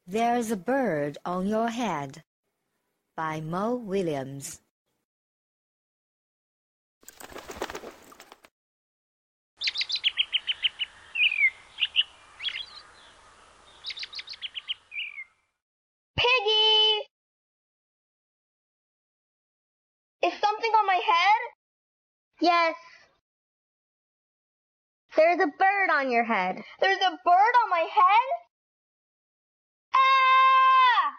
There's a Bird on Your Head by Mo Williams. Piggy! Is something on my head? Yes. There's a bird on your head. There's a bird on my head? Ah!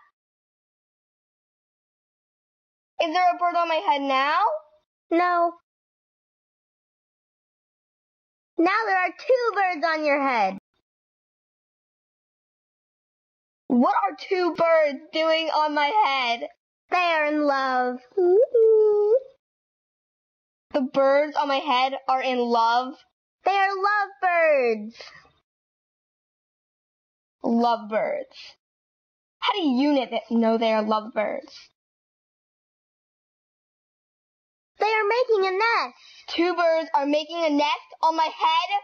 Is there a bird on my head now? No. Now there are two birds on your head. What are two birds doing on my head? They are in love. The birds on my head are in love? They are lovebirds. Lovebirds. How do you know they are lovebirds? They are making a nest. Two birds are making a nest on my head?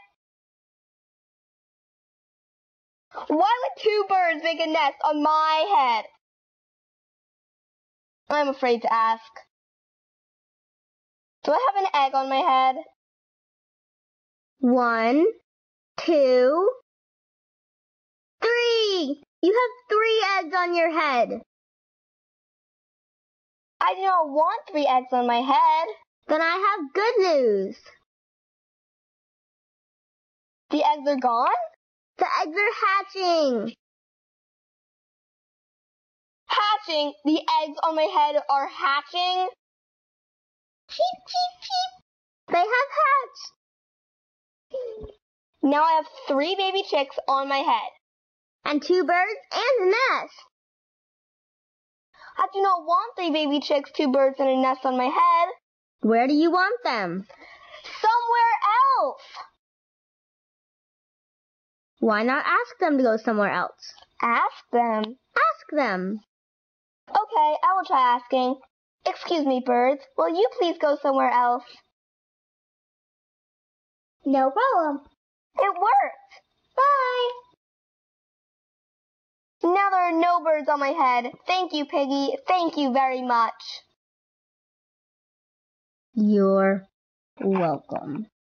Why would two birds make a nest on my head? I'm afraid to ask. Do I have an egg on my head? 1, 2, 3. You have 3 eggs on your head. I do not want 3 eggs on my head. Then I have good news. The eggs are gone? The eggs are hatching. Hatching? The eggs on my head are hatching? Cheep, cheep, cheep. They have hatched. Now I have 3 baby chicks on my head. And 2 birds and a nest. I do not want 3 baby chicks, 2 birds, and a nest on my head. Where do you want them? Somewhere else. Why not ask them to go somewhere else? Ask them. Ask them. Okay, I will try asking. Excuse me, birds. Will you please go somewhere else? No problem. It worked. Bye. Now there are no birds on my head. Thank you, Piggy. Thank you very much. You're welcome.